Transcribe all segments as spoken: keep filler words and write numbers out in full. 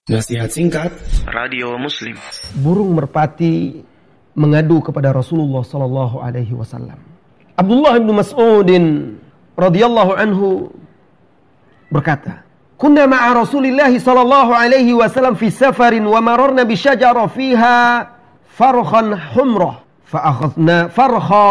Nasihat singkat Radio Muslim. Burung merpati mengadu kepada Rasulullah sallallahu alaihi wasallam. Abdullah bin Mas'udin radhiyallahu anhu berkata, "Kunna ma'a Rasulillah sallallahu alaihi wasallam fi safarin wa mararna bi syajara fiha farkhan humrah fa akhadna farkha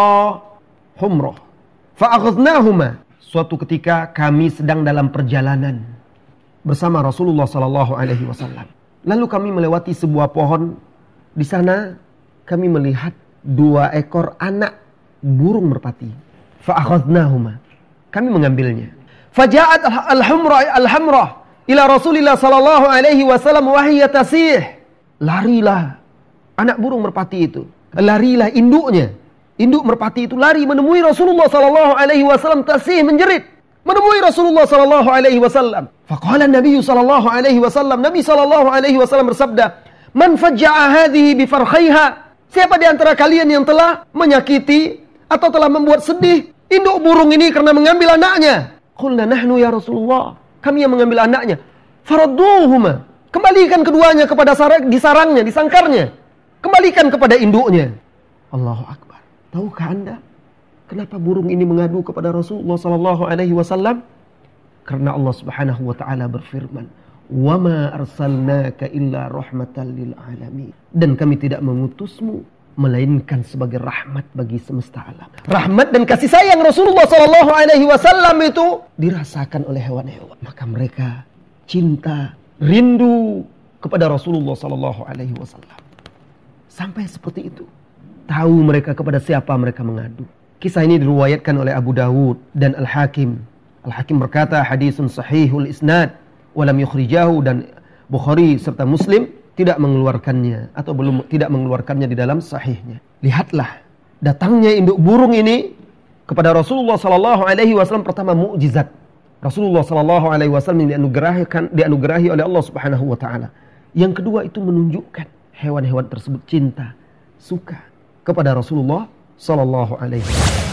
humrah fa akhadnahuma." Suatu ketika kami sedang dalam perjalanan bersama Rasulullah sallallahu alaihi wasallam. Lalu kami melewati sebuah pohon. Di sana kami melihat dua ekor anak burung merpati. Fa akhadnahuma. Kami mengambilnya. Faja'at al-humra al-hamra ila Rasulillah sallallahu alaihi wasallam wa hiya tasih. Larilah anak burung merpati itu. Larilah induknya. Induk merpati itu lari menemui Rasulullah sallallahu alaihi wasallam tasih menjerit. Menemui Rasulullah sallallahu alaihi wasallam. Faqala Nabi sallallahu alaihi wasallam, Nabi sallallahu alaihi wasallam bersabda, "Man fajja'a hadhihi bi farkhaiha?" Siapa di antara kalian yang telah menyakiti atau telah membuat sedih induk burung ini karena mengambil anaknya? Qulna nahnu ya Rasulullah. Kami yang mengambil anaknya. Faradduhuma. Kembalikan keduanya kepada sarang, di sarangnya, di sangkarnya. Kembalikan kepada induknya. Allahu akbar. Tahukah Anda kenapa burung ini mengadu kepada Rasulullah sallallahu alaihi wasallam? Karena Allah Subhanahu wa taala berfirman, "Wa ma arsalnaka illa rahmatan lil alamin." Dan kami tidak mengutusmu melainkan sebagai rahmat bagi semesta alam. Rahmat dan kasih sayang Rasulullah sallallahu alaihi wasallam itu dirasakan oleh hewan-hewan. Maka mereka cinta, rindu kepada Rasulullah sallallahu alaihi wasallam. Sampai seperti itu. Tahu mereka kepada siapa mereka mengadu. Kisah ini diriwayatkan oleh Abu Dawud dan Al-Hakim. Al-Hakim berkata hadisun sahihul isnad walam yukhrijahu, dan Bukhari serta Muslim tidak mengeluarkannya atau belum tidak mengeluarkannya di dalam sahihnya. Lihatlah datangnya induk burung ini kepada Rasulullah sallallahu alaihi wasallam, pertama mukjizat. Rasulullah sallallahu alaihi wasallam dianugerahikan dianugerahi oleh Allah Subhanahu wa taala. Yang kedua itu menunjukkan hewan-hewan tersebut cinta, suka kepada Rasulullah sallallahu alaihi wasallam.